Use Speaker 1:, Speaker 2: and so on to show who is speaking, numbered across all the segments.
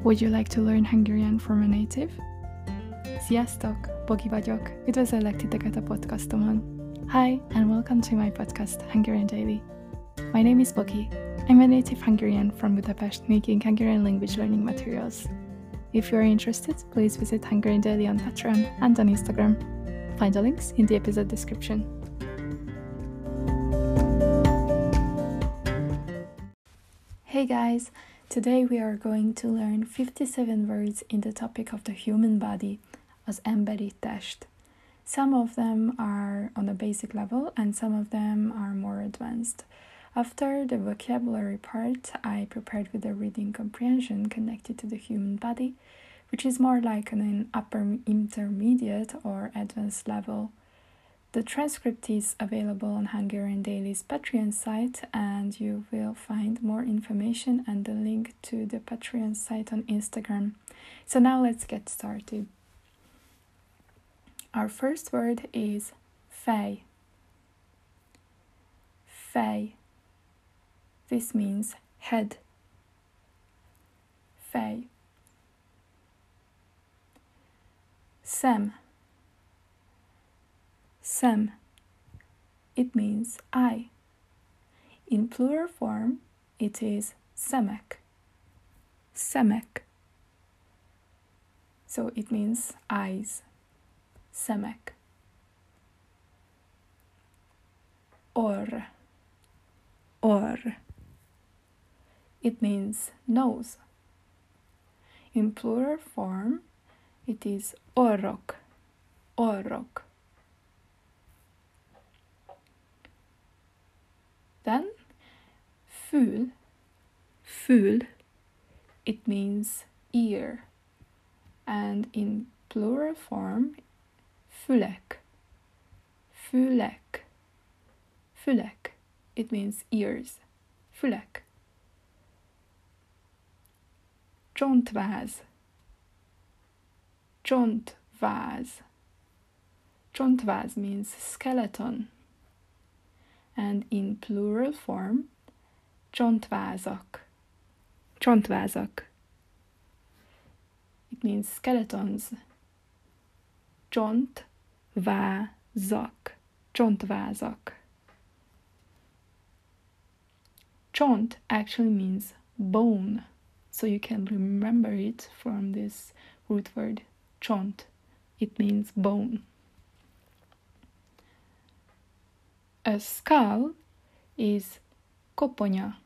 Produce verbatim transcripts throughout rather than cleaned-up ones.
Speaker 1: Would you like to learn Hungarian from a native? Sziasztok! Bogi vagyok. Üdvözöllek titeket a podcastomon. Hi, and welcome to my podcast, Hungarian Daily. My name is Bogi. I'm a native Hungarian from Budapest making Hungarian language learning materials. If you are interested, please visit Hungarian Daily on Patreon and on Instagram. Find the links in the episode description. Hey guys! Today we are going to learn fifty-seven words in the topic of the human body, az emberi test. Some of them are on a basic level and some of them are more advanced. After the vocabulary part, I prepared with a reading comprehension connected to the human body, which is more like an upper intermediate or advanced level. The transcript is available on Hungarian Daily's Patreon site, and you will find more information and the link to the Patreon site on Instagram. So now let's get started. Our first word is fej. Fej. This means head. Fej. Szem. Szem. It means eye. In plural form, it is szemek. Szemek. So it means eyes. Szemek. Orr. Orr. It means nose. In plural form, it is orrok. Orrok. Then, fül. Fül. It means ear. And in plural form, fülek. Fülek. Fülek. It means ears. Fülek. Csontváz. Csontváz. Csontváz means skeleton. And in plural form, csontvázak. Csontvázak. It means skeletons. Csontvázak. Csontvázak. Csont actually means bone, so you can remember it from this root word, csont. It means bone. A skull is koponya.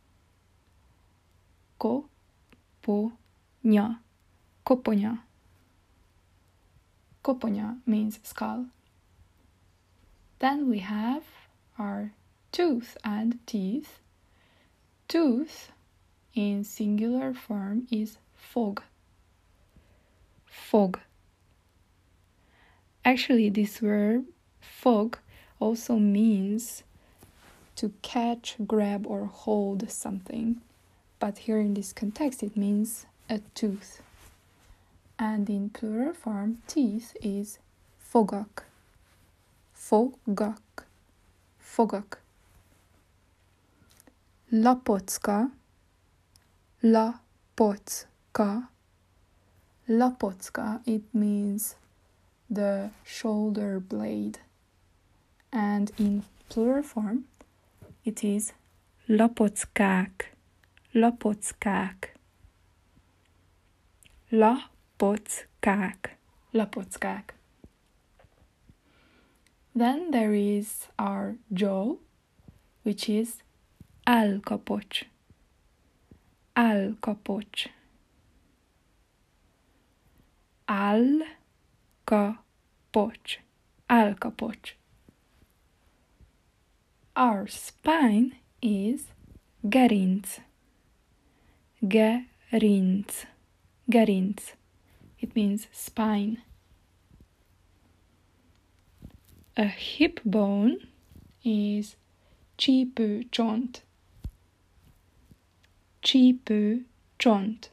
Speaker 1: Koponya. Koponya. Koponya means skull. Then we have our tooth and teeth. Tooth in singular form is fog. Fog. Actually, this verb, fog, also means to catch, grab, or hold something. But here in this context, it means a tooth. And in plural form, teeth is fogak. Fogak. Fogak. Lapocka. Lapocka. Lapocka, it means the shoulder blade. And in plural form, it is lapockák. Lapockák. Lapockák. Lapockák. Then there is our jaw, which is állkapocs. Állkapocs. Állkapocs. Állkapocs. Our spine is gerinc. Gerinc. Gerinc. It means spine. A hip bone is csípőcsont. Csípőcsont.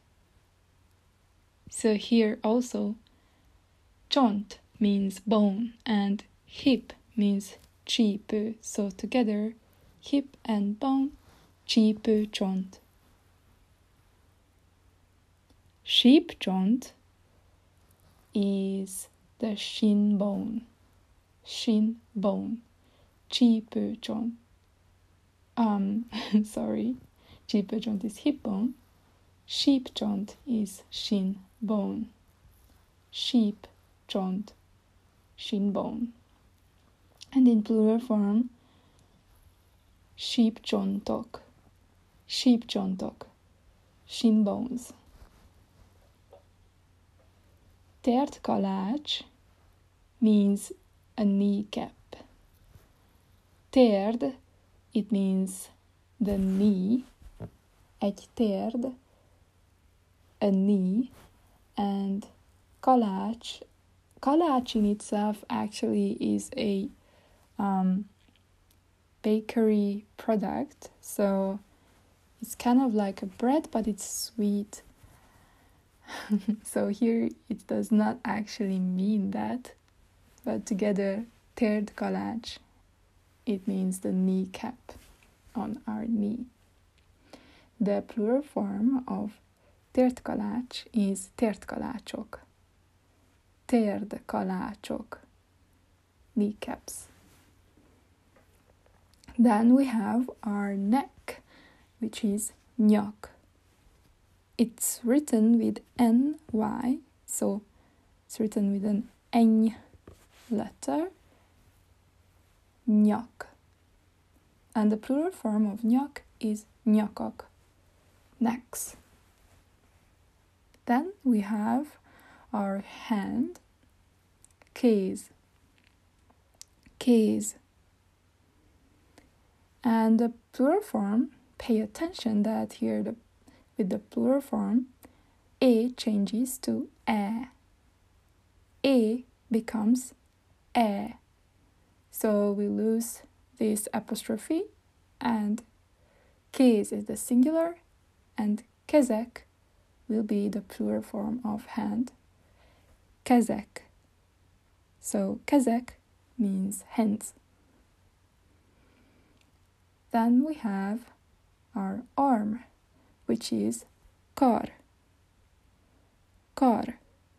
Speaker 1: So here also, csont means bone and hip means csípő. So together, hip and bone, csípőcsont. sheep joint is the shin bone. Shin bone. Csípőcsont. Um, sorry. Csípőcsont is hip bone. Sheep joint is shin bone. Sheep joint, shin bone. And in plural form, sheep csontok. Sheep csontok. Shin bones. Tért kalács means a kneecap. Térd, it means the knee. Egy térd, a knee. And kalács, kalács in itself actually is a um, bakery product. So it's kind of like a bread, but it's sweet. So here it does not actually mean that, but together, térd kalács, it means the kneecap on our knee. The plural form of tért kalács is tért kalácsok. Térd kalácsok, kneecaps. Then we have our neck, which is nyak. It's written with N Y, so it's written with an N letter, nyak. And the plural form of nyak is nyakak, necks. Then we have our hand, kéz, kéz. And the plural form, pay attention that here the with the plural form, A changes to E. A becomes E. So we lose this apostrophe, and kéz is the singular, and kezek will be the plural form of hand. Kezek. So kezek means hands. Then we have our arm, which is kar. Kar.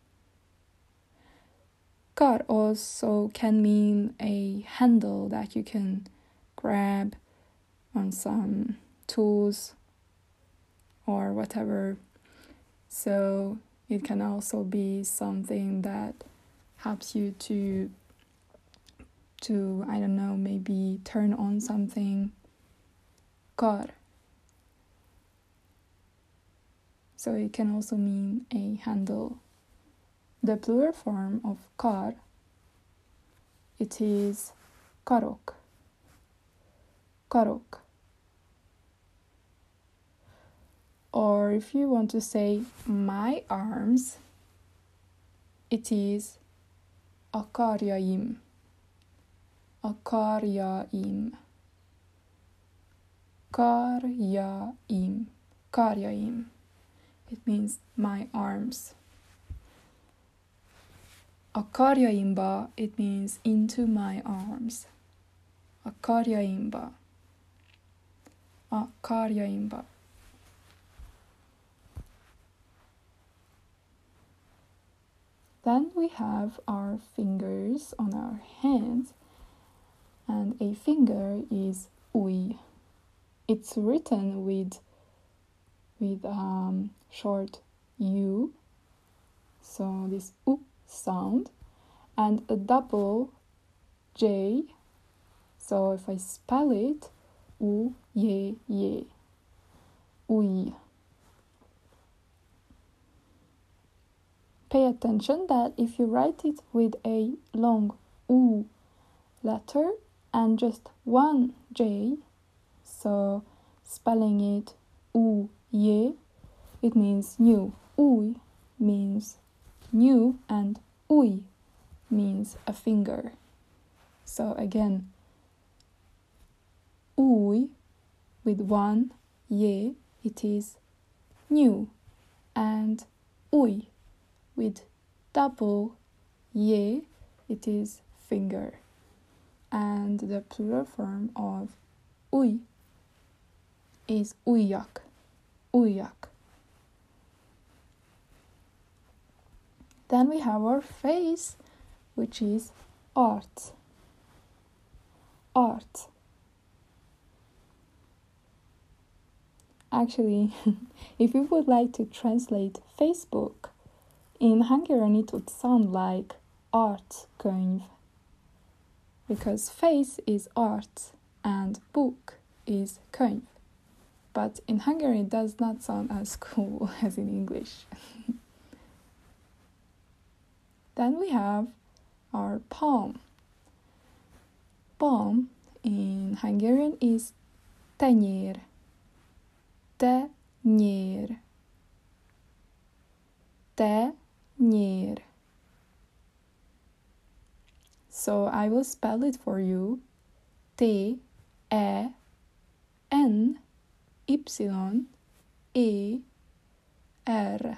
Speaker 1: Kar also can mean a handle that you can grab on some tools or whatever. So it can also be something that helps you to, to I don't know, maybe turn on something. Kar. So it can also mean a handle. The plural form of kar, it is karok. Karok. Or if you want to say my arms, it is a karjaim. A karjaim. Karjaim. Karjaim. It means my arms. A karjaimba, it means into my arms. A karjaimba. A karjaimba. Then we have our fingers on our hands, and a finger is ujj. It's written with with um, short U, so this U sound, and a double J, so if I spell it, U, ye, ye, ujj. Pay attention that if you write it with a long U letter and just one J, so spelling it U, ye, it means new. Ujj means new, and ujj means a finger. So again, ujj with one ye, it is new, and ujj with double ye, it is finger. And the plural form of ujj is ujjak. Ujjak. Then we have our face, which is art. Art. Actually, if we would like to translate Facebook, in Hungarian it would sound like artkönyv, because face is art and book is könyv. But in Hungarian it does not sound as cool as in English. Then we have our palm. Palm in Hungarian is tenyér. Tenyér. Tenyér. So I will spell it for you. T E N Y E R.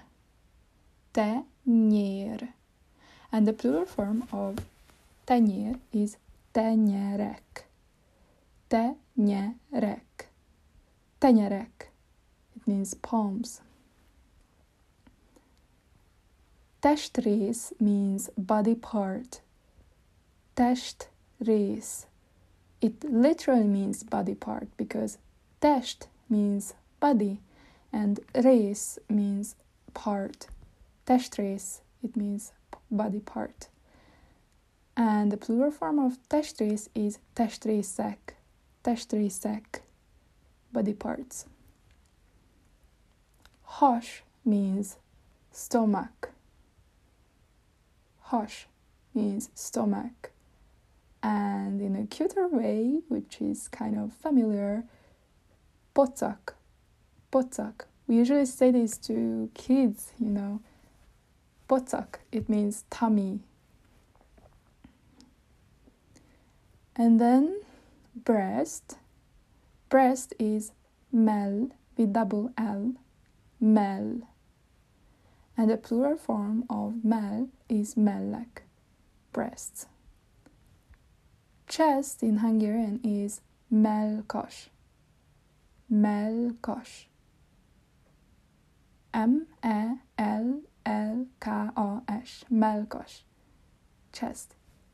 Speaker 1: Tenyér. And the plural form of tenyér is tenyerek. Tenyerek. Tenyerek. It means palms. Testrész means body part. Testrész. It literally means body part because test means body and rész means part. Testrész, it means body part. And the plural form of testrész is testrészek. Testrészek, body parts. Has means stomach. Has means stomach. And in a cuter way, which is kind of familiar, pocak. Pocak. We usually say this to kids, you know. Pocak, it means tummy. And then breast. Breast is mell with double L. Mell. And the plural form of mell is mellek. Breasts. Chest in Hungarian is mellkas. Mellkas. M E L L K A S. Mellkas. Chest.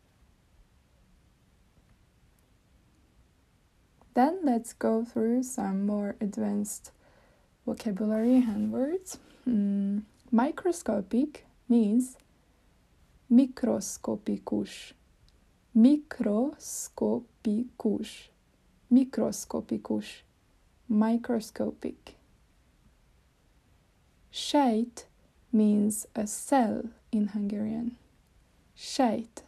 Speaker 1: Then let's go through some more advanced vocabulary and words. Mm, microscopic means mikroszkopikus. Mikroszkopikus. Mikroszkopikus. Microscopic. Sejt means a cell in Hungarian. Sejt.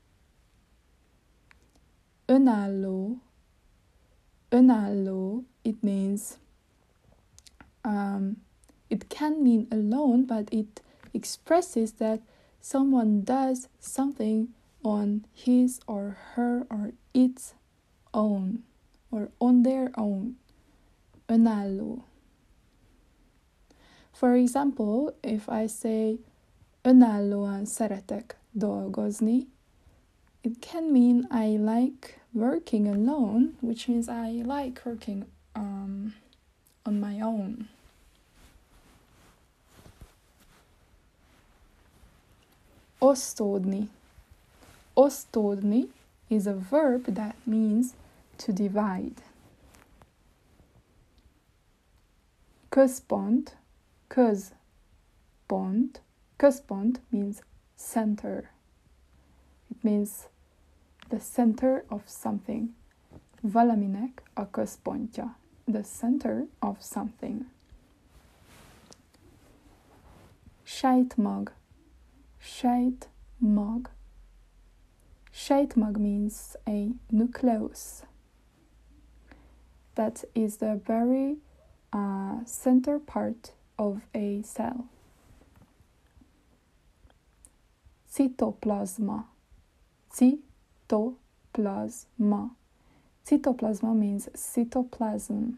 Speaker 1: Önálló. Önálló, it means, um, it can mean alone, but it expresses that someone does something on his or her or its own, or on their own. Önálló. For example, if I say önállóan szeretek dolgozni, it can mean I like working alone, which means I like working um, on my own. Osztódni. Osztódni is a verb that means to divide. Központ. Központ. Központ means center. It means the center of something. Valaminek a központja. The center of something. Sejtmag. Sejtmag. Sejtmag means a nucleus. That is the very uh, center part of a cell. Cytoplasma. Cytoplasma. Cytoplasma means cytoplasm.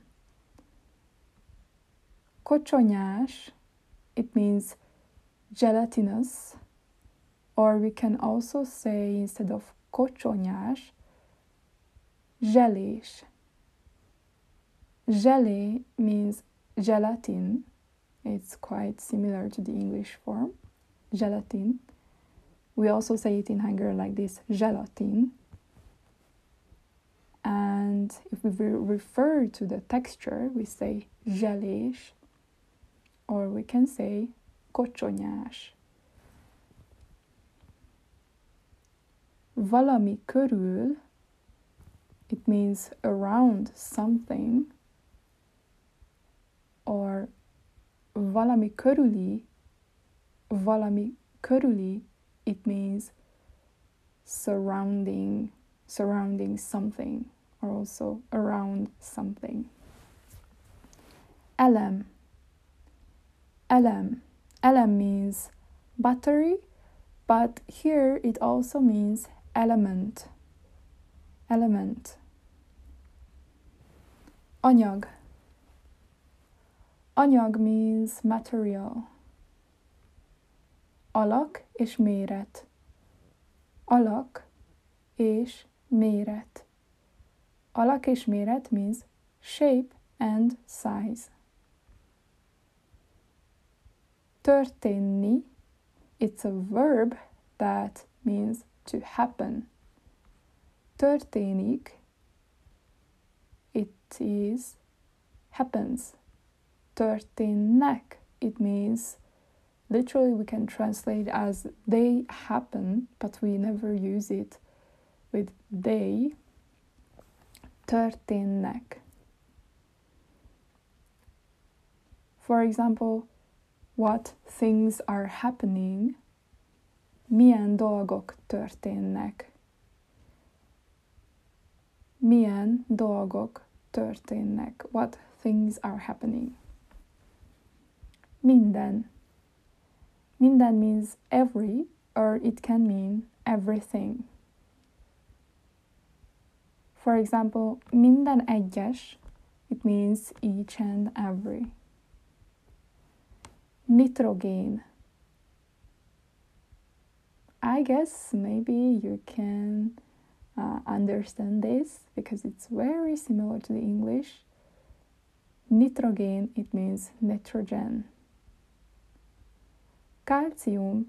Speaker 1: Kocsonyás, it means gelatinous, or we can also say instead of kocsonyás, zselés. Gelé means gelatin. It's quite similar to the English form. gelatin. We also say it in Hungarian like this, gelatin. And if we refer to the texture, we say zselés, or we can say kocsonyás. Valami körül, it means around something, or valami körüli, valami körüli, it means surrounding, surrounding something, or also around something. Elem. Elem. Elem means battery, but here it also means element. Element. Anyag. Anyag means material. Alak és méret. Alak és méret. Alak és méret means shape and size. Történni, it's a verb that means to happen. Történik, it is happens. Történnek, it means literally we can translate as they happen, but we never use it with they. Történnek. For example, what things are happening, milyen dolgok történnek. Milyen dolgok történnek. What things are happening. Minden. Minden means every, or it can mean everything. For example, minden egyes, it means each and every. Nitrogén. I guess maybe you can uh, understand this because it's very similar to the English. Nitrogén, it means nitrogen. Calcium.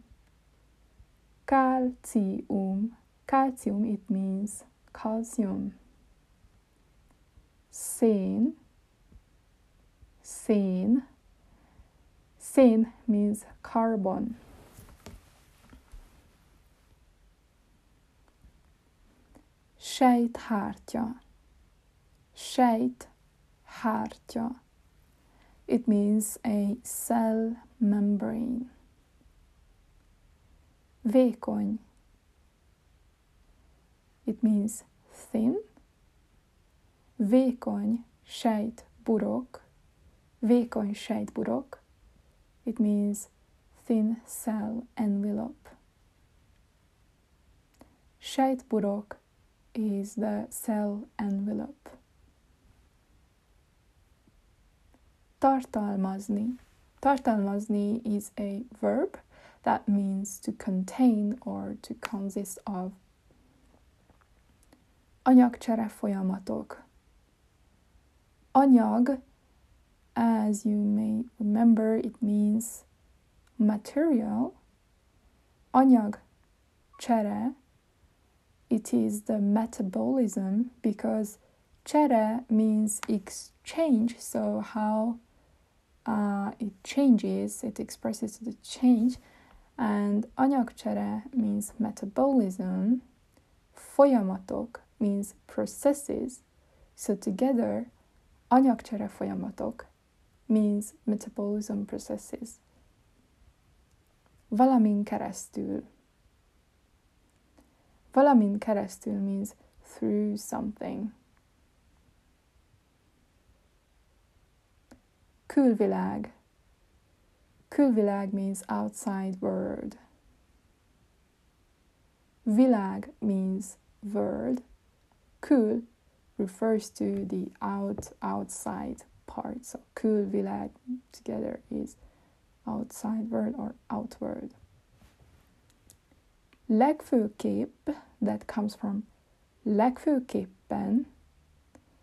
Speaker 1: Calcium. Calcium, it means calcium. Szén. Szén. Szén means carbon. Sejthártya. Sejthártya. It means a cell membrane. Vékony. It means thin. Vékony sejtburok. Vékony sejtburok. It means thin cell envelope. Sejtburok is the cell envelope. Tartalmazni. Tartalmazni is a verb that means to contain or to consist of. Anyagcsere folyamatok. Anyag, as you may remember, it means material. Anyagcsere, it is the metabolism because csere means exchange, so how uh, it changes, it expresses the change, and anyagcsere means metabolism. Folyamatok means processes, so together anyagcsere folyamatok means metabolism processes. Valamin keresztül. Valamin keresztül means through something. Külvilág. Külvilág means outside world. Világ means world. Kül refers to the out, outside part. So külvilág together is outside world or outward. Legfőképp, that comes from legfőképpen.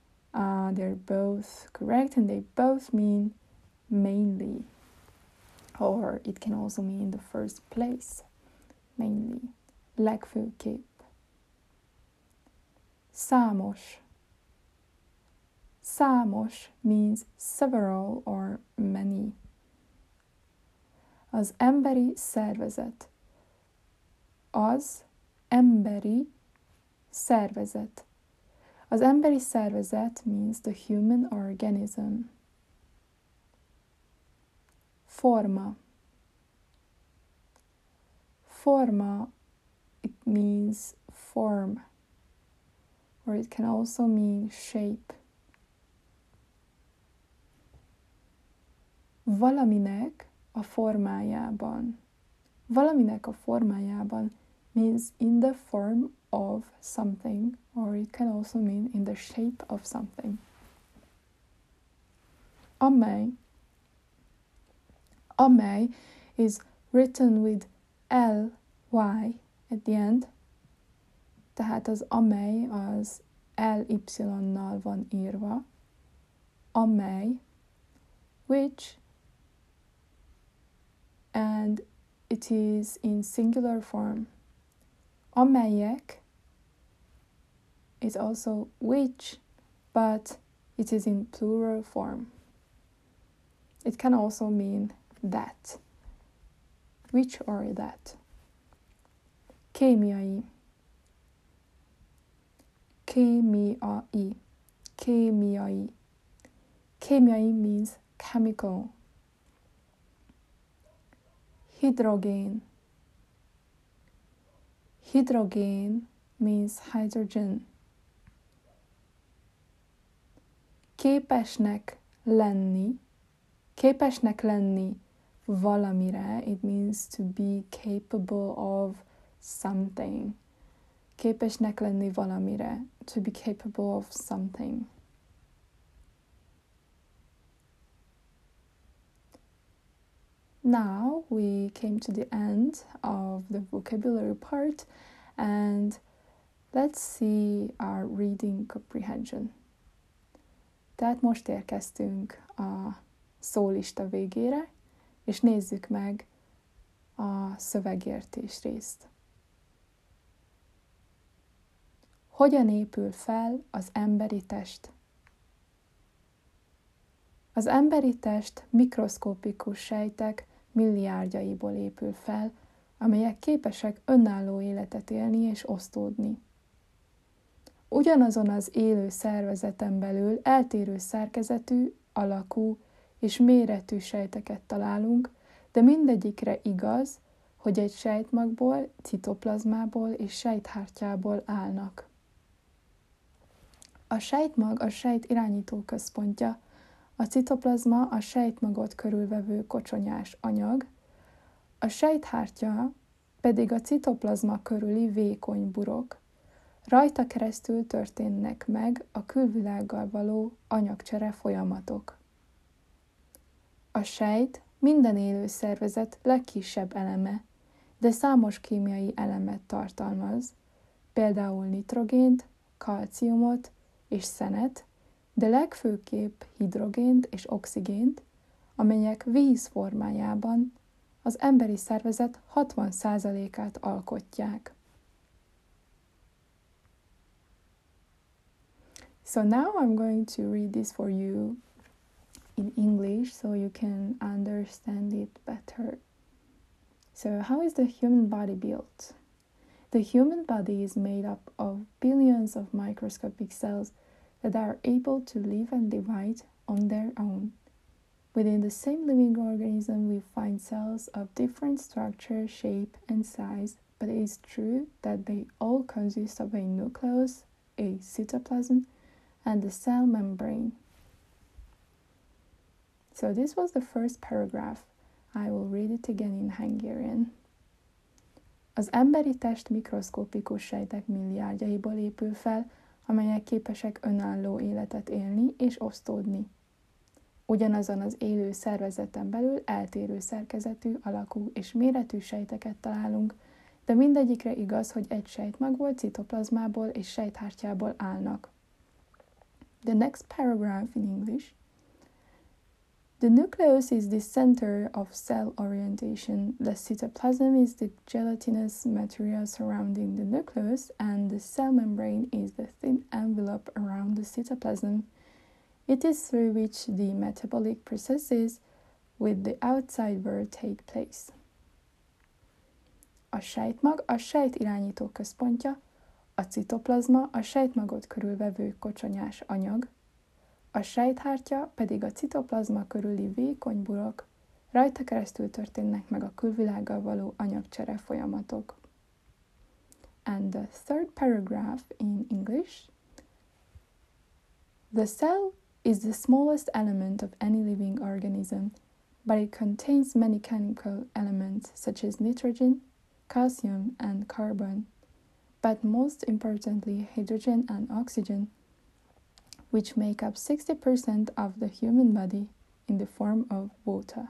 Speaker 1: Uh, they're both correct and they both mean mainly. or it can also mean in the first place, mainly. Legfőképp. Számos. Számos means several or many. Az emberi szervezet. Az emberi szervezet. Az emberi szervezet means the human organism. Forma. Forma, it means form, or it can also mean shape. Valaminek a formájában. Valaminek a formájában means in the form of something, or it can also mean in the shape of something. Amely. Amely is written with L Y at the end, tehát az amely az L Y-nal van írva. Amely, which, and it is in singular form. Amelyek is also which, but it is in plural form. It can also mean that. Which or that. Kémiai. Kémiai. Kémiai. Kémiai means chemical. Hidrogén. Hidrogén means hydrogen. Képesnek lenni. Képesnek lenni valamire. It means to be capable of something. Képesnek lenni valamire. To be capable of something. Now we came to the end of the vocabulary part, and let's see our reading comprehension. Tehát most érkeztünk a szólista végére, és nézzük meg a szövegértés részt. Hogyan épül fel az emberi test? Az emberi test mikroszkopikus sejtek milliárdjaiból épül fel, amelyek képesek önálló életet élni és osztódni. Ugyanazon az élő szervezeten belül eltérő szerkezetű, alakú és méretű sejteket találunk, de mindegyikre igaz, hogy egy sejtmagból, citoplazmából és sejthártyából állnak. A sejtmag a sejt irányító központja, a citoplazma a sejtmagot körülvevő kocsonyás anyag, a sejthártya pedig a citoplazma körüli vékony burok. Rajta keresztül történnek meg a külvilággal való anyagcsere folyamatok. A sejt minden élő szervezet legkisebb eleme, de számos kémiai elemet tartalmaz, például nitrogént, kalciumot és szenet, de legfőképp hidrogént és oxigént, amelyek víz formájában az emberi szervezet hatvan százalékát alkotják. So now I'm going to read this for you in English so you can understand it better. So how is the human body built? The human body is made up of billions of microscopic cells that are able to live and divide on their own. Within the same living organism, we find cells of different structure, shape, and size, but it is true that they all consist of a nucleus, a cytoplasm, and the cell membrane. So this was the first paragraph. I will read it again in Hungarian. Az emberi test mikroszkopikus sejtek milliárdjaiból épül fel, amelyek képesek önálló életet élni és osztódni. Ugyanazon az élő szervezeten belül eltérő szerkezetű, alakú és méretű sejteket találunk, de mindegyikre igaz, hogy egy sejtmagból, citoplazmából és The nucleus is the center of cell orientation. The cytoplasm is the gelatinous material surrounding the nucleus, and the cell membrane is the thin envelope around the cytoplasm. It is through which the metabolic processes with the outside world take place. A sejtmag a sejt irányító központja, a citoplazma a sejtmagot körülvevő kocsonyás anyag, a sejthártya pedig a citoplazma körüli vékony burok, rajta keresztül történnek meg a külvilággal való anyagcsere folyamatok. And the third paragraph in English. The cell is the smallest element of any living organism, but it contains many chemical elements such as nitrogen, calcium, and carbon, but most importantly hydrogen and oxygen, which make up sixty percent of the human body in the form of water.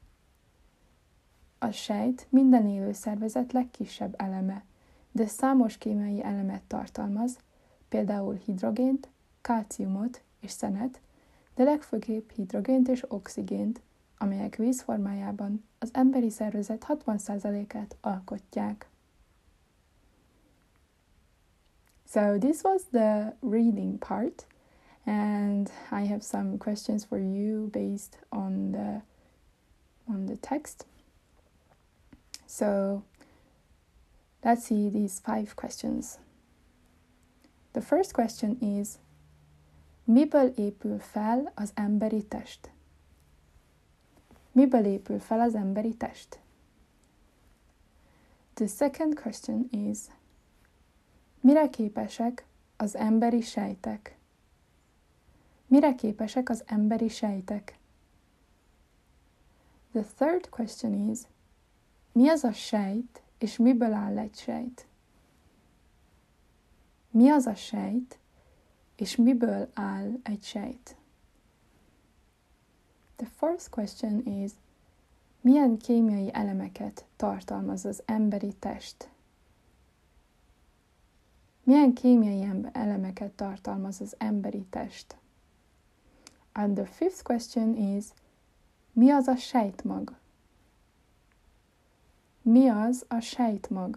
Speaker 1: A sejt minden élő szervezet legkisebb eleme, de számos kémiai elemet tartalmaz, például hidrogént, kalciumot és szenet, de legfőképp hidrogént és oxigént, amelyek víz formájában az emberi szervezet hatvan százalékát alkotják. So this was the reading part, and I have some questions for you based on the on the text. So let's see these five questions. The first question is: miből épül fel az emberi test? Miből épül fel az emberi test? The second question is: mire képesek az emberi sejtek? Mire képesek az emberi sejtek? The third question is: mi az a sejt, és miből áll egy sejt? Mi az a sejt, és miből áll egy sejt? The fourth question is: milyen kémiai elemeket tartalmaz az emberi test? Milyen kémiai elemeket tartalmaz az emberi test? And the fifth question is: mi az a sejtmag? Mi az a sejtmag?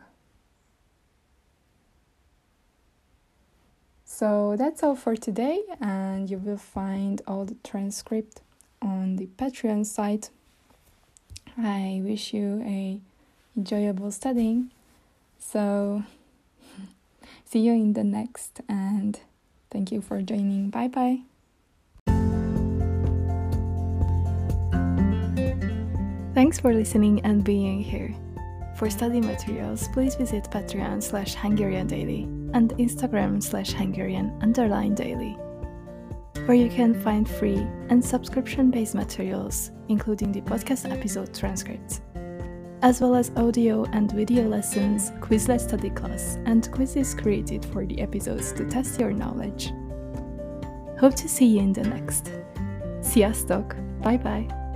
Speaker 1: So that's all for today, and you will find all the transcript on the Patreon site. I wish you a enjoyable studying. So see you in the next, and thank you for joining. Bye bye. Thanks for listening and being here. For study materials, please visit Patreon slash Hungarian Daily and Instagram slash Hungarian underline daily, where you can find free and subscription-based materials, including the podcast episode transcripts, as well as audio and video lessons, Quizlet study class, and quizzes created for the episodes to test your knowledge. Hope to see you in the next. Sziasztok! Bye bye!